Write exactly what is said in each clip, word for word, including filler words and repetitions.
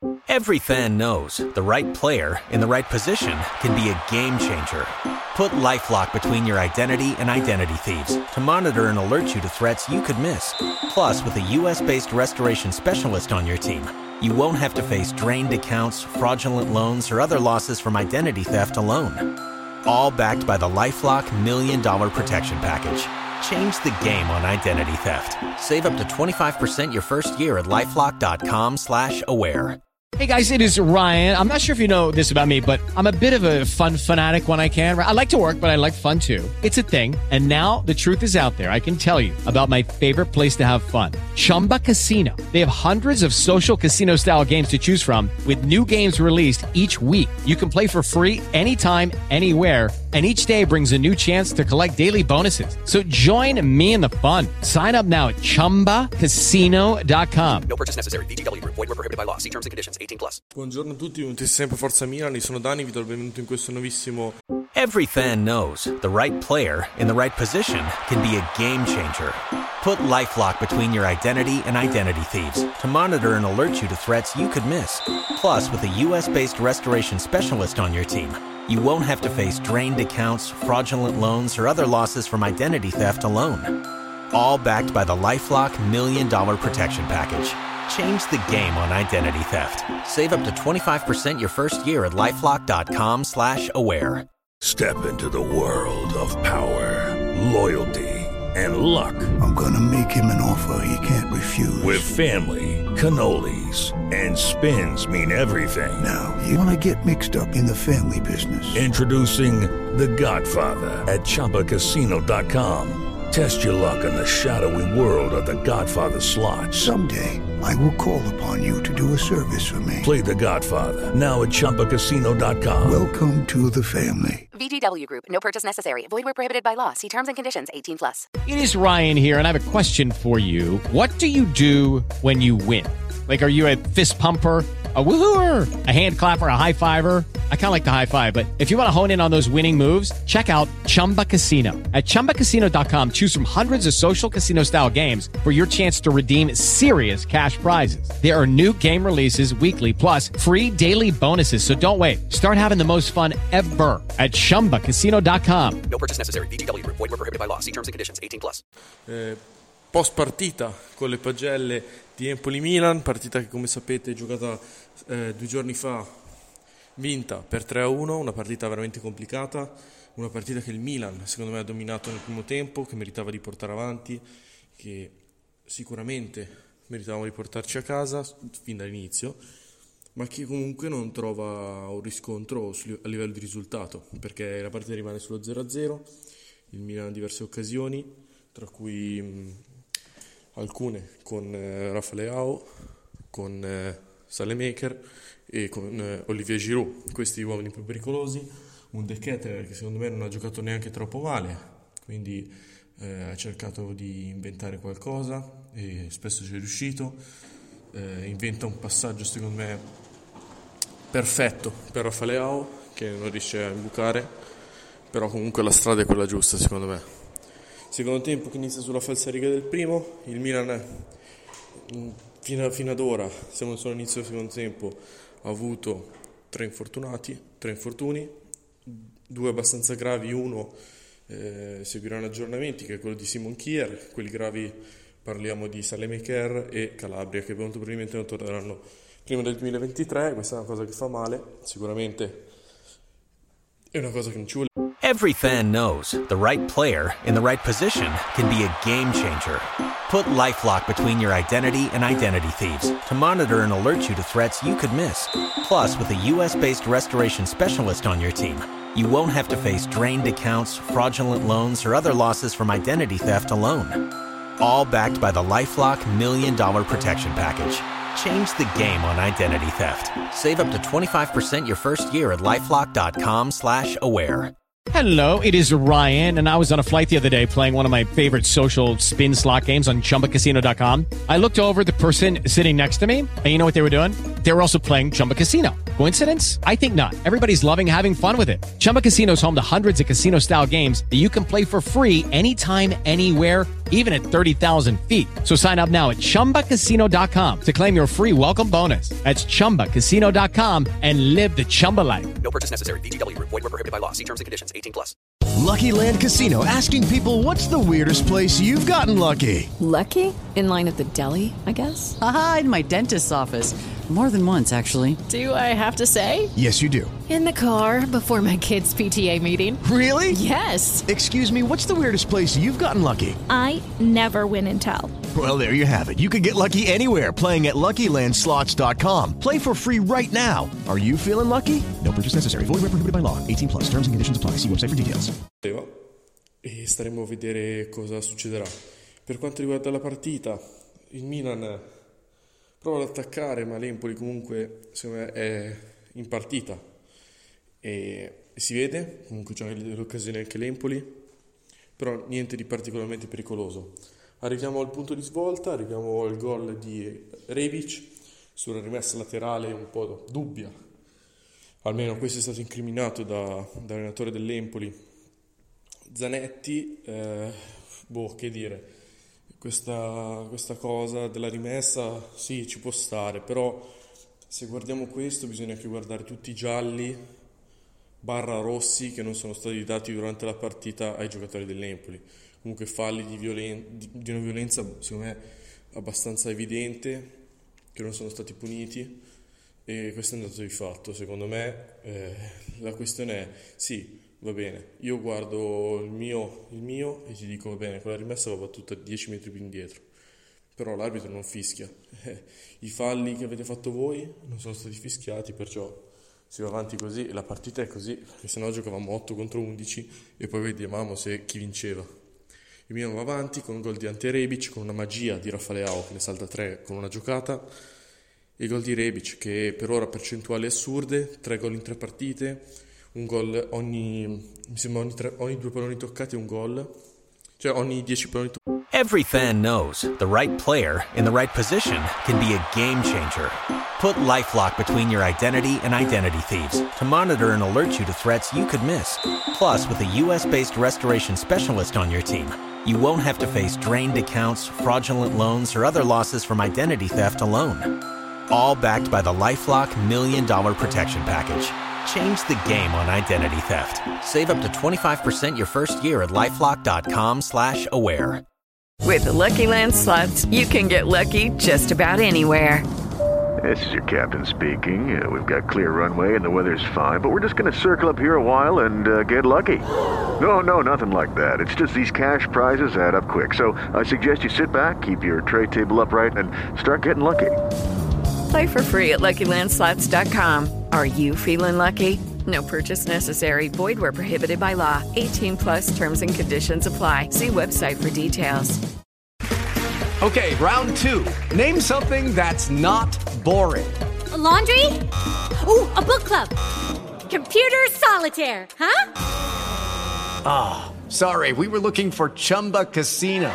Every fan knows the right player in the right position can be a game changer. Put LifeLock between your identity and identity thieves to monitor and alert you to threats you could miss. Plus, with a U S-based restoration specialist on your team, you won't have to face drained accounts, fraudulent loans, or other losses from identity theft alone. All backed by the LifeLock Million Dollar Protection Package. Change the game on identity theft. Save up to twenty-five percent your first year at LifeLock.com slash aware. Hey guys, it is Ryan. I'm not sure if you know this about me, but I'm a bit of a fun fanatic when I can. I like to work, but I like fun too. It's a thing. And now the truth is out there. I can tell you about my favorite place to have fun. Chumba Casino. They have hundreds of social casino style games to choose from with new games released each week. You can play for free anytime, anywhere. And each day brings a new chance to collect daily bonuses. So join me in the fun. Sign up now at Chumba Casino dot com. No purchase necessary. V G W Group. Void where prohibited by law. See terms and conditions. eighteen plus. Buongiorno a tutti, benvenuti sempre Forza Milan, io sono Dani, vi do il benvenuto in questo nuovissimo. Every fan knows the right player in the right position can be a game changer. Put LifeLock between your identity and identity thieves to monitor and alert you to threats you could miss. Plus, with a U S-based restoration specialist on your team, you won't have to face drained accounts, fraudulent loans, or other losses from identity theft alone. All backed by the LifeLock Million Dollar Protection Package. Change the game on identity theft. Save up to twenty-five percent your first year at LifeLock.com slash aware. Step into the world of power, loyalty, and luck. I'm gonna make him an offer he can't refuse. With family, cannolis, and spins mean everything. Now, you wanna get mixed up in the family business. Introducing The Godfather at Chumba Casino dot com. Test your luck in the shadowy world of The Godfather slot. Someday, I will call upon you to do a service for me. Play The Godfather, now at Chumba Casino dot com. Welcome to the family. V G W Group. No purchase necessary. Void where prohibited by law. See terms and conditions. eighteen plus. It is Ryan here, and I have a question for you. What do you do when you win? Like, are you a fist pumper, a woohooer, a hand clapper, a high fiver? I kind of like the high five, but if you want to hone in on those winning moves, check out Chumba Casino. At Chumba Casino dot com, choose from hundreds of social casino-style games for your chance to redeem serious cash prizes. There are new game releases weekly, plus free daily bonuses, so don't wait. Start having the most fun ever at Chumba Casino dot com. No purchase necessary. V G W Group. Void where prohibited by law. See terms and conditions. eighteen plus. Eh, post partita con le pagelle di Empoli-Milan, partita che come sapete è giocata eh, due giorni fa, vinta per tre a uno, una partita veramente complicata, una partita che il Milan secondo me ha dominato nel primo tempo, che meritava di portare avanti, che sicuramente meritavamo di portarci a casa fin dall'inizio, ma che comunque non trova un riscontro a livello di risultato, perché la partita rimane sullo zero a zero, il Milan ha diverse occasioni, tra cui mh, alcune con eh, Rafa Leao, con eh, Salemaker e con eh, Olivier Giroud, questi uomini più pericolosi, un De Ketelaere che secondo me non ha giocato neanche troppo male, quindi eh, ha cercato di inventare qualcosa e spesso ci è riuscito, eh, inventa un passaggio secondo me perfetto per Rafa Leao che non riesce a imbucare, però comunque la strada è quella giusta secondo me. Secondo tempo che inizia sulla falsariga del primo, il Milan fino, fino ad ora, siamo solo all'inizio del secondo tempo, ha avuto tre infortunati, tre infortuni, due abbastanza gravi, uno eh, seguiranno aggiornamenti che è quello di Simon Kjær, quelli gravi parliamo di Salemaker e Calabria che molto probabilmente non torneranno prima del duemilaventitré, questa è una cosa che fa male, sicuramente è una cosa che non ci vuole. Every fan knows the right player in the right position can be a game changer. Put LifeLock between your identity and identity thieves to monitor and alert you to threats you could miss. Plus, with a U S-based restoration specialist on your team, you won't have to face drained accounts, fraudulent loans, or other losses from identity theft alone. All backed by the LifeLock Million Dollar Protection Package. Change the game on identity theft. Save up to twenty-five percent your first year at LifeLock.com slash aware. Hello, it is Ryan, and I was on a flight the other day playing one of my favorite social spin slot games on Chumba Casino dot com. I looked over at the person sitting next to me, and you know what they were doing? They were also playing Chumba Casino. Coincidence? I think not. Everybody's loving having fun with it. Chumba Casino is home to hundreds of casino-style games that you can play for free anytime, anywhere, even at thirty thousand feet. So sign up now at chumba casino dot com to claim your free welcome bonus. That's chumba casino dot com and live the Chumba life. No purchase necessary. V G W. Void where prohibited by law. See terms and conditions. eighteen plus. Lucky Land Casino, asking people, what's the weirdest place you've gotten lucky? Lucky? In line at the deli, I guess? Aha, in my dentist's office. More than once, actually. Do I have to say? Yes, you do. In the car before my kids' P T A meeting. Really? Yes. Excuse me, what's the weirdest place you've gotten lucky? I never win and tell. Well, there you have it. You can get lucky anywhere, playing at Lucky Land Slots dot com. Play for free right now. Are you feeling lucky? No purchase necessary. Void where prohibited by law. eighteen plus. Terms and conditions apply. See website for details. E staremo a vedere cosa succederà. Per quanto riguarda la partita, il Milan prova ad attaccare, ma l'Empoli comunque secondo me è in partita e, e si vede, comunque c'è delle occasioni anche l'Empoli, però niente di particolarmente pericoloso. Arriviamo al punto di svolta, arriviamo al gol di Rebic sulla rimessa laterale un po' dubbia, almeno questo è stato incriminato da, dall'allenatore dell'Empoli Zanetti. eh, boh che dire, questa, questa cosa della rimessa sì ci può stare, però se guardiamo questo bisogna anche guardare tutti i gialli barra rossi che non sono stati dati durante la partita ai giocatori dell'Empoli. Comunque falli di, violen- di, di una violenza secondo me abbastanza evidente che non sono stati puniti, e questo è un dato di fatto. Secondo me eh, la questione è sì, va bene, io guardo il mio, il mio e ti dico va bene, quella rimessa va battuta dieci metri più indietro, però l'arbitro non fischia. I falli che avete fatto voi non sono stati fischiati, perciò si va avanti così e la partita è così, perché sennò giocavamo otto contro undici e poi vedevamo se chi vinceva. Il Milan va avanti con un gol di Ante Rebic, con una magia di Rafaleao che ne salta tre con una giocata, e il gol di Rebic che per ora percentuali assurde, tre gol in tre partite, un gol ogni, mi sembra ogni, tre, ogni due palloni toccati un gol, cioè ogni dieci palloni toccati. Every fan knows the right player in the right position can be a game changer. Put LifeLock between your identity and identity thieves to monitor and alert you to threats you could miss. Plus, with a U S-based restoration specialist on your team, you won't have to face drained accounts, fraudulent loans, or other losses from identity theft alone. All backed by the LifeLock Million Dollar Protection Package. Change the game on identity theft. Save up to twenty-five percent your first year at LifeLock.com slash aware. With the Lucky Land Slots, you can get lucky just about anywhere. This is your captain speaking. Uh, we've got clear runway and the weather's fine, but we're just going to circle up here a while and uh, get lucky. No, no, nothing like that. It's just these cash prizes add up quick. So I suggest you sit back, keep your tray table upright, and start getting lucky. Play for free at Lucky Land Slots dot com. Are you feeling lucky? No purchase necessary. Void where prohibited by law. eighteen plus terms and conditions apply. See website for details. Okay, round two. Name something that's not boring. A laundry? Ooh, a book club. Computer solitaire, huh? Ah, oh, sorry. We were looking for Chumba Casino.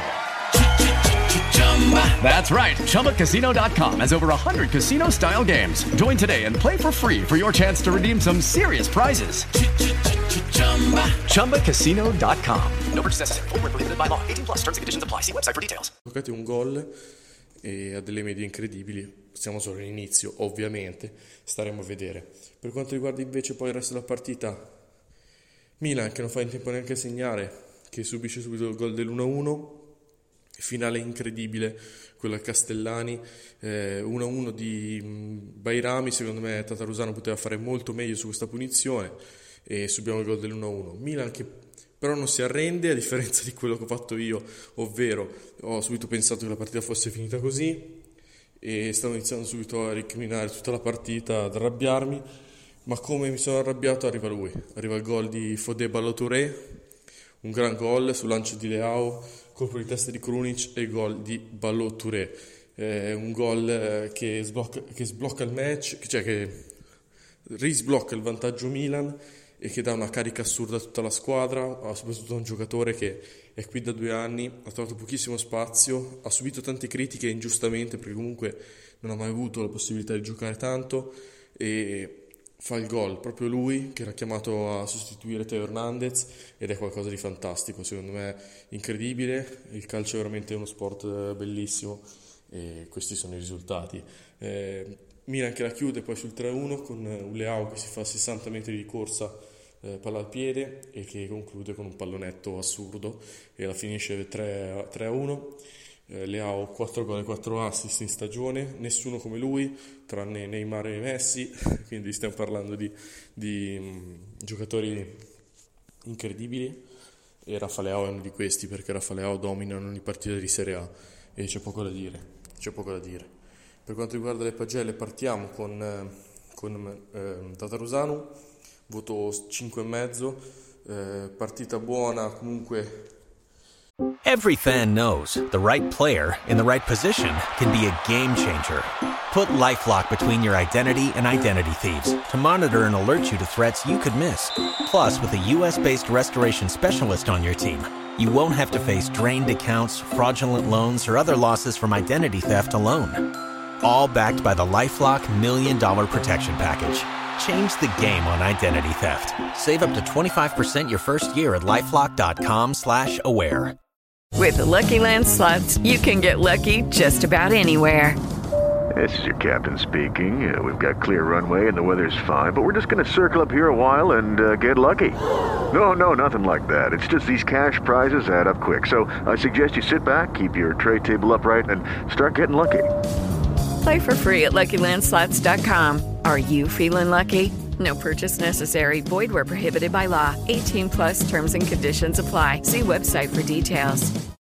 That's right. Chumba Casino dot com has over one hundred casino-style games. Join today and play for free for your chance to redeem some serious prizes. Chumba Casino dot com. No purchase necessary. Void where prohibited by law. eighteen plus. Terms and conditions apply. See website for details. Giocate un gol e ha delle medie incredibili. Siamo solo all'inizio, ovviamente. Staremo a vedere. Per quanto riguarda invece poi il resto della partita, Milan che non fa in tempo neanche a segnare, che subisce subito il gol dell'uno a uno. Finale incredibile, quello a Castellani, eh, uno a uno di Bairami. Secondo me Tatarusano poteva fare molto meglio su questa punizione e subiamo il gol dell'uno a uno. Milan che però non si arrende, a differenza di quello che ho fatto io, ovvero ho subito pensato che la partita fosse finita così e stavo iniziando subito a recriminare tutta la partita, ad arrabbiarmi, ma come mi sono arrabbiato arriva lui, arriva il gol di Fodé Ballo-Touré, un gran gol sul lancio di Leao, colpo di testa di Krunic e il gol di Ballo-Touré. Eh, un gol che sblocca, che sblocca il match, cioè che risblocca il vantaggio Milan e che dà una carica assurda a tutta la squadra, soprattutto a un giocatore che è qui da due anni, ha trovato pochissimo spazio, ha subito tante critiche ingiustamente perché comunque non ha mai avuto la possibilità di giocare tanto e fa il gol, proprio lui che era chiamato a sostituire Teo Hernandez, ed è qualcosa di fantastico, secondo me incredibile. Il calcio è veramente uno sport bellissimo e questi sono i risultati. eh, Milan che la chiude poi sul tre a uno con un Leao che si fa sessanta metri di corsa, eh, palla al piede, e che conclude con un pallonetto assurdo e la finisce tre a uno. eh, Leao quattro gol e quattro assist in stagione, nessuno come lui tranne Neymar e Messi, quindi stiamo parlando di, di mh, giocatori incredibili, e Rafa Leao è uno di questi, perché Rafa Leao domina ogni partita di Serie A e c'è poco da dire, c'è poco da dire. Per quanto riguarda le pagelle, partiamo con, eh, con eh, Tatarusanu, voto cinque e mezzo, eh, partita buona comunque. Every fan knows the right player in the right position can be a game changer. Put LifeLock between your identity and identity thieves to monitor and alert you to threats you could miss. Plus, with a U S-based restoration specialist on your team, you won't have to face drained accounts, fraudulent loans, or other losses from identity theft alone. All backed by the LifeLock Million Dollar Protection Package. Change the game on identity theft. Save up to twenty-five percent your first year at LifeLock.com slash aware. With the Lucky Land Slots, you can get lucky just about anywhere. This is your captain speaking. Uh, we've got clear runway and the weather's fine, but we're just going to circle up here a while and uh, get lucky. No, no, nothing like that. It's just these cash prizes add up quick. So I suggest you sit back, keep your tray table upright, and start getting lucky. Play for free at Lucky Land Slots dot com. Are you feeling lucky? No purchase necessary. Void where prohibited by law. eighteen plus terms and conditions apply. See website for details.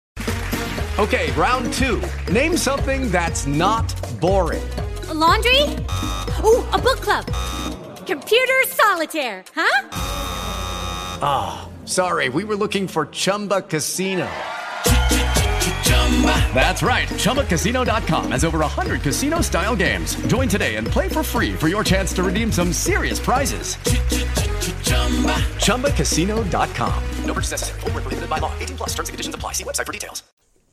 Okay, round two. Name something that's not boring. A laundry? Ooh, a book club. Computer solitaire, huh? Ah, oh, sorry. We were looking for Chumba Casino. That's right. Chumba Casino dot com has over one hundred casino-style games. Join today and play for free for your chance to redeem some serious prizes. Chumba Casino dot com. No purchase necessary. Void where prohibited by law. eighteen plus terms and conditions apply. See website for details.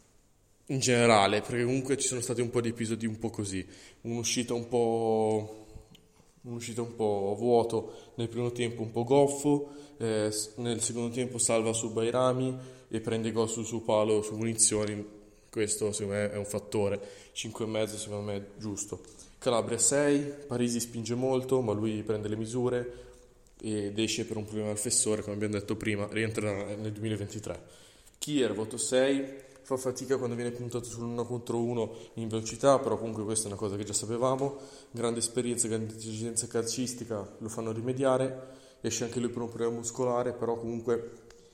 In generale, perché comunque ci sono stati un po' di episodi un po' così. Un'uscita un po'... un'uscita un po' vuoto nel primo tempo, un po' goffo. Eh, nel secondo tempo salva su Bairami e prende gol sul suo palo su munizioni. Questo secondo me è un fattore. Cinque e mezzo secondo me è giusto. Calabria sei, Parisi spinge molto ma lui prende le misure ed esce per un problema al fessore, come abbiamo detto prima, rientra nel duemilaventitré. Kier voto sei, fa fatica quando viene puntato sull'uno contro uno in velocità, però comunque questa è una cosa che già sapevamo. Grande esperienza, grande intelligenza calcistica, lo fanno rimediare. Esce anche lui per un problema muscolare, però comunque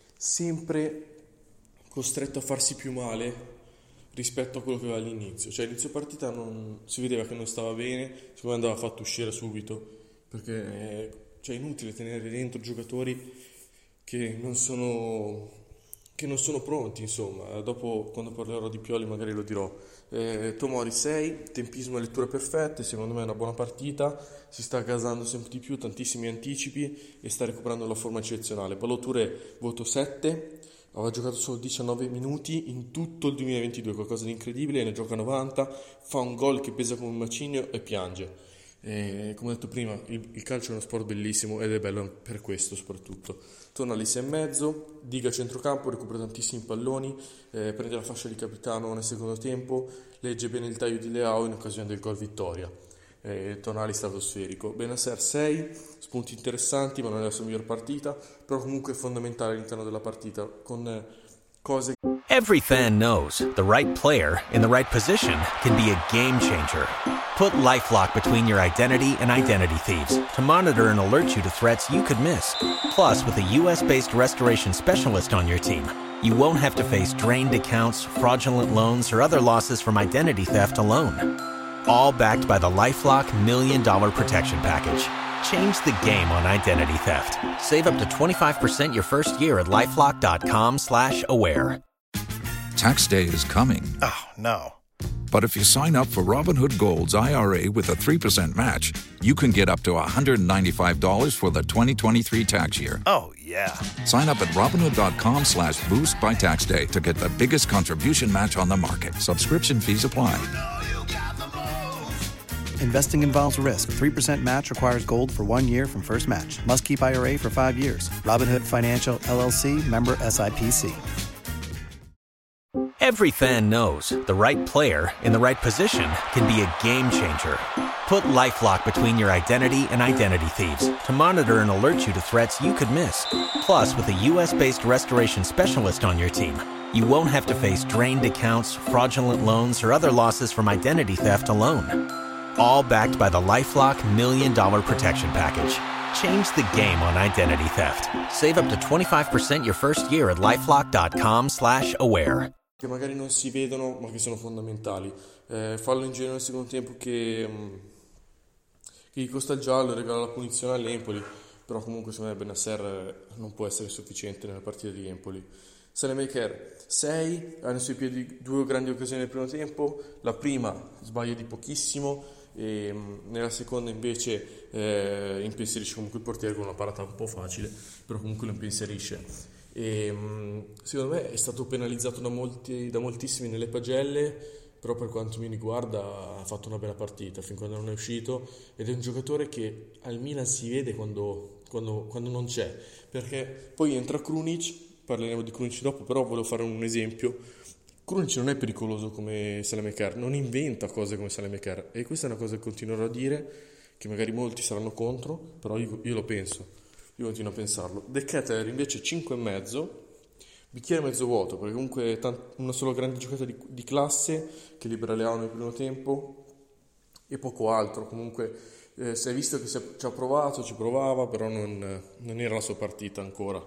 sempre costretto a farsi più male rispetto a quello che aveva all'inizio. Cioè all'inizio partita non, si vedeva che non stava bene, secondo me andava fatto uscire subito, perché è, cioè, è inutile tenere dentro giocatori che non sono che non sono pronti, insomma. Dopo, quando parlerò di Pioli, magari lo dirò. eh, Tomori sei, tempismo e letture perfette, secondo me è una buona partita, si sta gasando sempre di più, tantissimi anticipi e sta recuperando la forma eccezionale. Ballo-Touré voto sette, aveva giocato solo diciannove minuti in tutto il duemilaventidue, qualcosa di incredibile, ne gioca novanta, fa un gol che pesa come un macigno e piange. E, come ho detto prima, il, il calcio è uno sport bellissimo ed è bello per questo soprattutto. Torna alle sei e mezzo, Diga a centrocampo, recupera tantissimi palloni, eh, prende la fascia di capitano nel secondo tempo, legge bene il taglio di Leao in occasione del gol vittoria. Eh, Tonali stratosferico. Benasser sei, spunti interessanti ma non è la sua miglior partita, però comunque è fondamentale all'interno della partita con eh, cose. Every fan knows the right player in the right position can be a game changer. Put LifeLock between your identity and identity thieves to monitor and alert you to threats you could miss. Plus, with a U S-based restoration specialist on your team, you won't have to face drained accounts, fraudulent loans, or other losses from identity theft alone. All backed by the LifeLock Million Dollar Protection Package. Change the game on identity theft. Save up to twenty-five percent your first year at LifeLock.com slash aware. Tax day is coming. Oh, no. But if you sign up for Robinhood Gold's I R A with a three percent match, you can get up to one hundred ninety-five dollars for the twenty twenty-three tax year. Oh, yeah. Sign up at Robinhood.com slash boost by tax day to get the biggest contribution match on the market. Subscription fees apply. Investing involves risk. three percent match requires gold for one year from first match. Must keep I R A for five years. Robinhood Financial, L L C, member S I P C. Every fan knows the right player in the right position can be a game changer. Put LifeLock between your identity and identity thieves to monitor and alert you to threats you could miss. Plus, with a U S-based restoration specialist on your team, you won't have to face drained accounts, fraudulent loans, or other losses from identity theft alone. All backed by the LifeLock Million Dollar Protection Package. Change the game on identity theft. Save up to twenty-five percent your first year at LifeLock.com slash aware. Che magari non si vedono ma che sono fondamentali. Eh, fallo in giro nel secondo tempo che, um, che gli costa il giallo e regala la punizione all'Empoli, però comunque secondo me Bennacer non può essere sufficiente nella partita di Empoli. Salemaker sei, ha nei suoi piedi due grandi occasioni nel primo tempo, la prima sbaglia di pochissimo e um, nella seconda invece eh, impensierisce comunque il portiere con una parata un po' facile, però comunque lo impensierisce. E, secondo me è stato penalizzato da, molti, da moltissimi nelle pagelle, però per quanto mi riguarda ha fatto una bella partita fin quando non è uscito, ed è un giocatore che al Milan si vede quando, quando, quando non c'è, perché poi entra Krunic, parleremo di Krunic dopo, però volevo fare un esempio. Krunic non è pericoloso come Salemaker, non inventa cose come Salemaker, e questa è una cosa che continuerò a dire, che magari molti saranno contro, però io, io lo penso. Io continuo a pensarlo. De Ketelaere invece cinque e mezzo, bicchiere mezzo vuoto, perché comunque è tant- una sola grande giocata di, di classe che libera Leao nel primo tempo e poco altro. Comunque eh, si è visto che si è, ci ha provato, ci provava, però non, non era la sua partita ancora,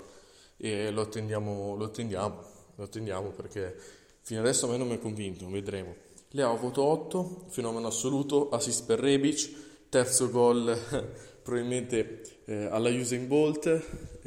e lo attendiamo, lo attendiamo, lo attendiamo perché fino adesso a me non mi ha convinto, vedremo. Leao voto otto, fenomeno assoluto, assist per Rebic, terzo gol probabilmente eh, alla Usain Bolt,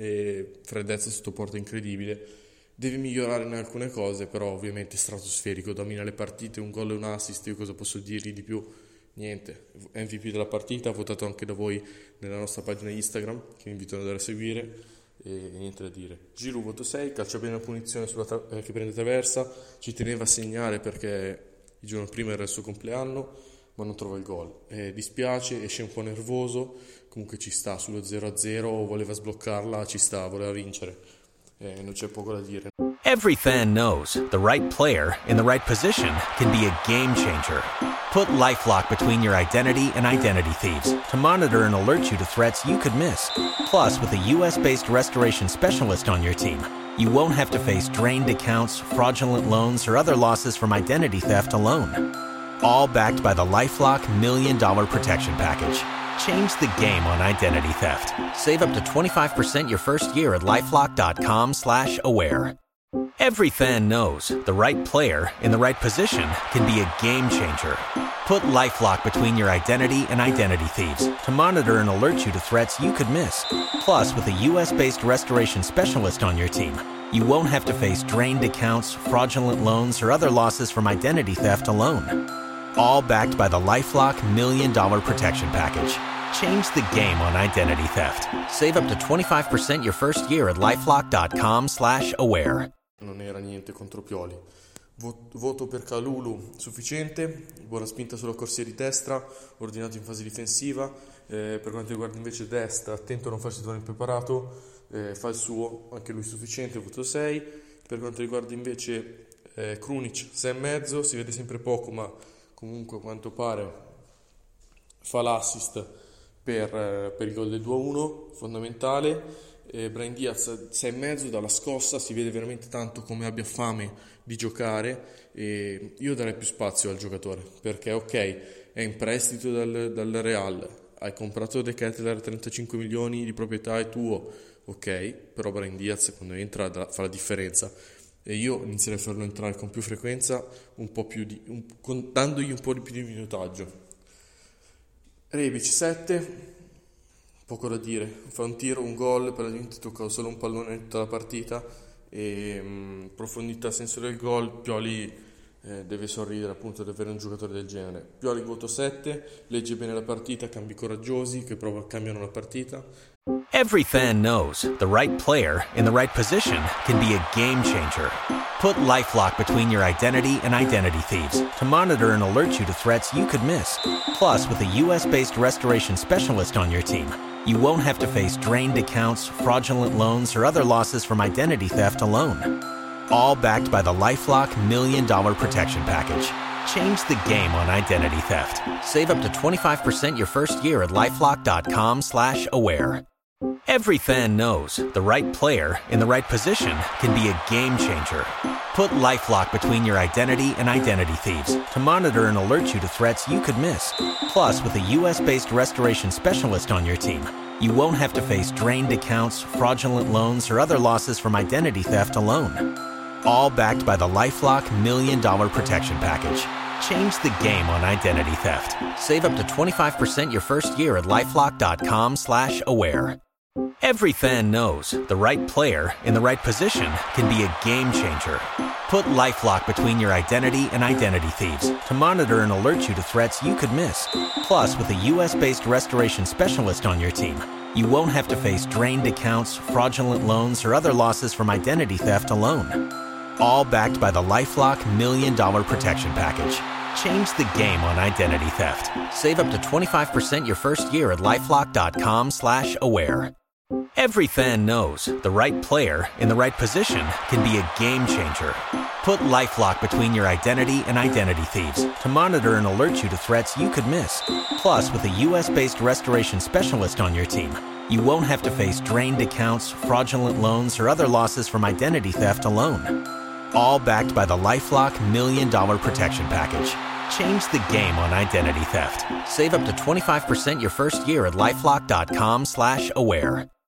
e freddezza sotto porta incredibile. Deve migliorare in alcune cose, però ovviamente stratosferico, domina le partite, un gol e un assist. Io cosa posso dirgli di più? Niente. M V P della partita, votato anche da voi nella nostra pagina Instagram, che vi invito ad andare a seguire, e niente da dire. Giroud voto sei, calcia bene la punizione sulla tra- eh, che prende traversa, ci teneva a segnare perché il giorno prima era il suo compleanno, ma non trova il gol. Eh, dispiace, esce un po' nervoso, comunque ci sta, sullo zero a zero voleva sbloccarla, ci sta, voleva vincere, eh, non c'è poco da dire. Every fan knows the right player in the right position can be a game changer. Put LifeLock between your identity and identity thieves to monitor and alert you to threats you could miss. Plus, with a U S-based restoration specialist on your team, you won't have to face drained accounts, fraudulent loans, or other losses from identity theft alone. All backed by the LifeLock Million Dollar Protection Package. Change the game on identity theft. Save up to twenty-five percent your first year at LifeLock.com slash aware. Every fan knows the right player in the right position can be a game changer. Put LifeLock between your identity and identity thieves to monitor and alert you to threats you could miss. Plus, with a U S-based restoration specialist on your team, you won't have to face drained accounts, fraudulent loans, or other losses from identity theft alone. All backed by the LifeLock Million Dollar Protection Package. Change the game on identity theft. Save up to twenty-five percent your first year at LifeLock.com slash aware. Non era niente contro Pioli. Voto per Kalulu sufficiente, buona spinta sulla corsia di destra, ordinato in fase difensiva. Eh, per quanto riguarda invece destra, attento a non farsi trovare impreparato, eh, fa il suo, anche lui sufficiente, voto sei. Per quanto riguarda invece eh, Krunic, sei e mezzo, si vede sempre poco, ma comunque a quanto pare fa l'assist per, eh, per il gol del due a uno, fondamentale. eh, Brahim Diaz sei e mezzo, dalla scossa si vede veramente tanto come abbia fame di giocare, e io darei più spazio al giocatore, perché ok, è in prestito dal, dal Real, hai comprato De Ketelaere trentacinque milioni di proprietà, è tuo, ok, però Brahim Diaz quando entra fa la differenza, e io inizierei a farlo entrare con più frequenza, un po' più di, un, con, dandogli un po' di più di minutaggio. Rebic sette, poco da dire, fa un tiro, un gol, per la gente tocca solo un pallone in tutta la partita, e mh, profondità, senso del gol, Pioli eh, deve sorridere appunto di avere un giocatore del genere. Pioli voto sette, legge bene la partita, cambi coraggiosi che prova, cambiano la partita. Every fan knows the right player in the right position can be a game changer. Put LifeLock between your identity and identity thieves to monitor and alert you to threats you could miss. Plus, with a U S-based restoration specialist on your team, you won't have to face drained accounts, fraudulent loans, or other losses from identity theft alone. All backed by the LifeLock Million Dollar Protection Package. Change the game on identity theft. Save up to twenty-five percent your first year at LifeLock.com slash aware. Every fan knows the right player in the right position can be a game changer. Put LifeLock between your identity and identity thieves to monitor and alert you to threats you could miss. Plus, with a U S-based restoration specialist on your team, you won't have to face drained accounts, fraudulent loans, or other losses from identity theft alone. All backed by the LifeLock Million Dollar Protection Package. Change the game on identity theft. Save up to twenty-five percent your first year at LifeLock.com slash aware. Every fan knows the right player in the right position can be a game changer. Put LifeLock between your identity and identity thieves to monitor and alert you to threats you could miss. Plus, with a U S-based restoration specialist on your team, you won't have to face drained accounts, fraudulent loans, or other losses from identity theft alone. All backed by the LifeLock Million Dollar Protection Package. Change the game on identity theft. Save up to twenty-five percent your first year at LifeLock.com slash aware. Every fan knows the right player in the right position can be a game changer. Put LifeLock between your identity and identity thieves to monitor and alert you to threats you could miss. Plus, with a U S-based restoration specialist on your team, you won't have to face drained accounts, fraudulent loans, or other losses from identity theft alone. All backed by the LifeLock Million Dollar Protection Package. Change the game on identity theft. Save up to twenty-five percent your first year at LifeLock.com slash aware.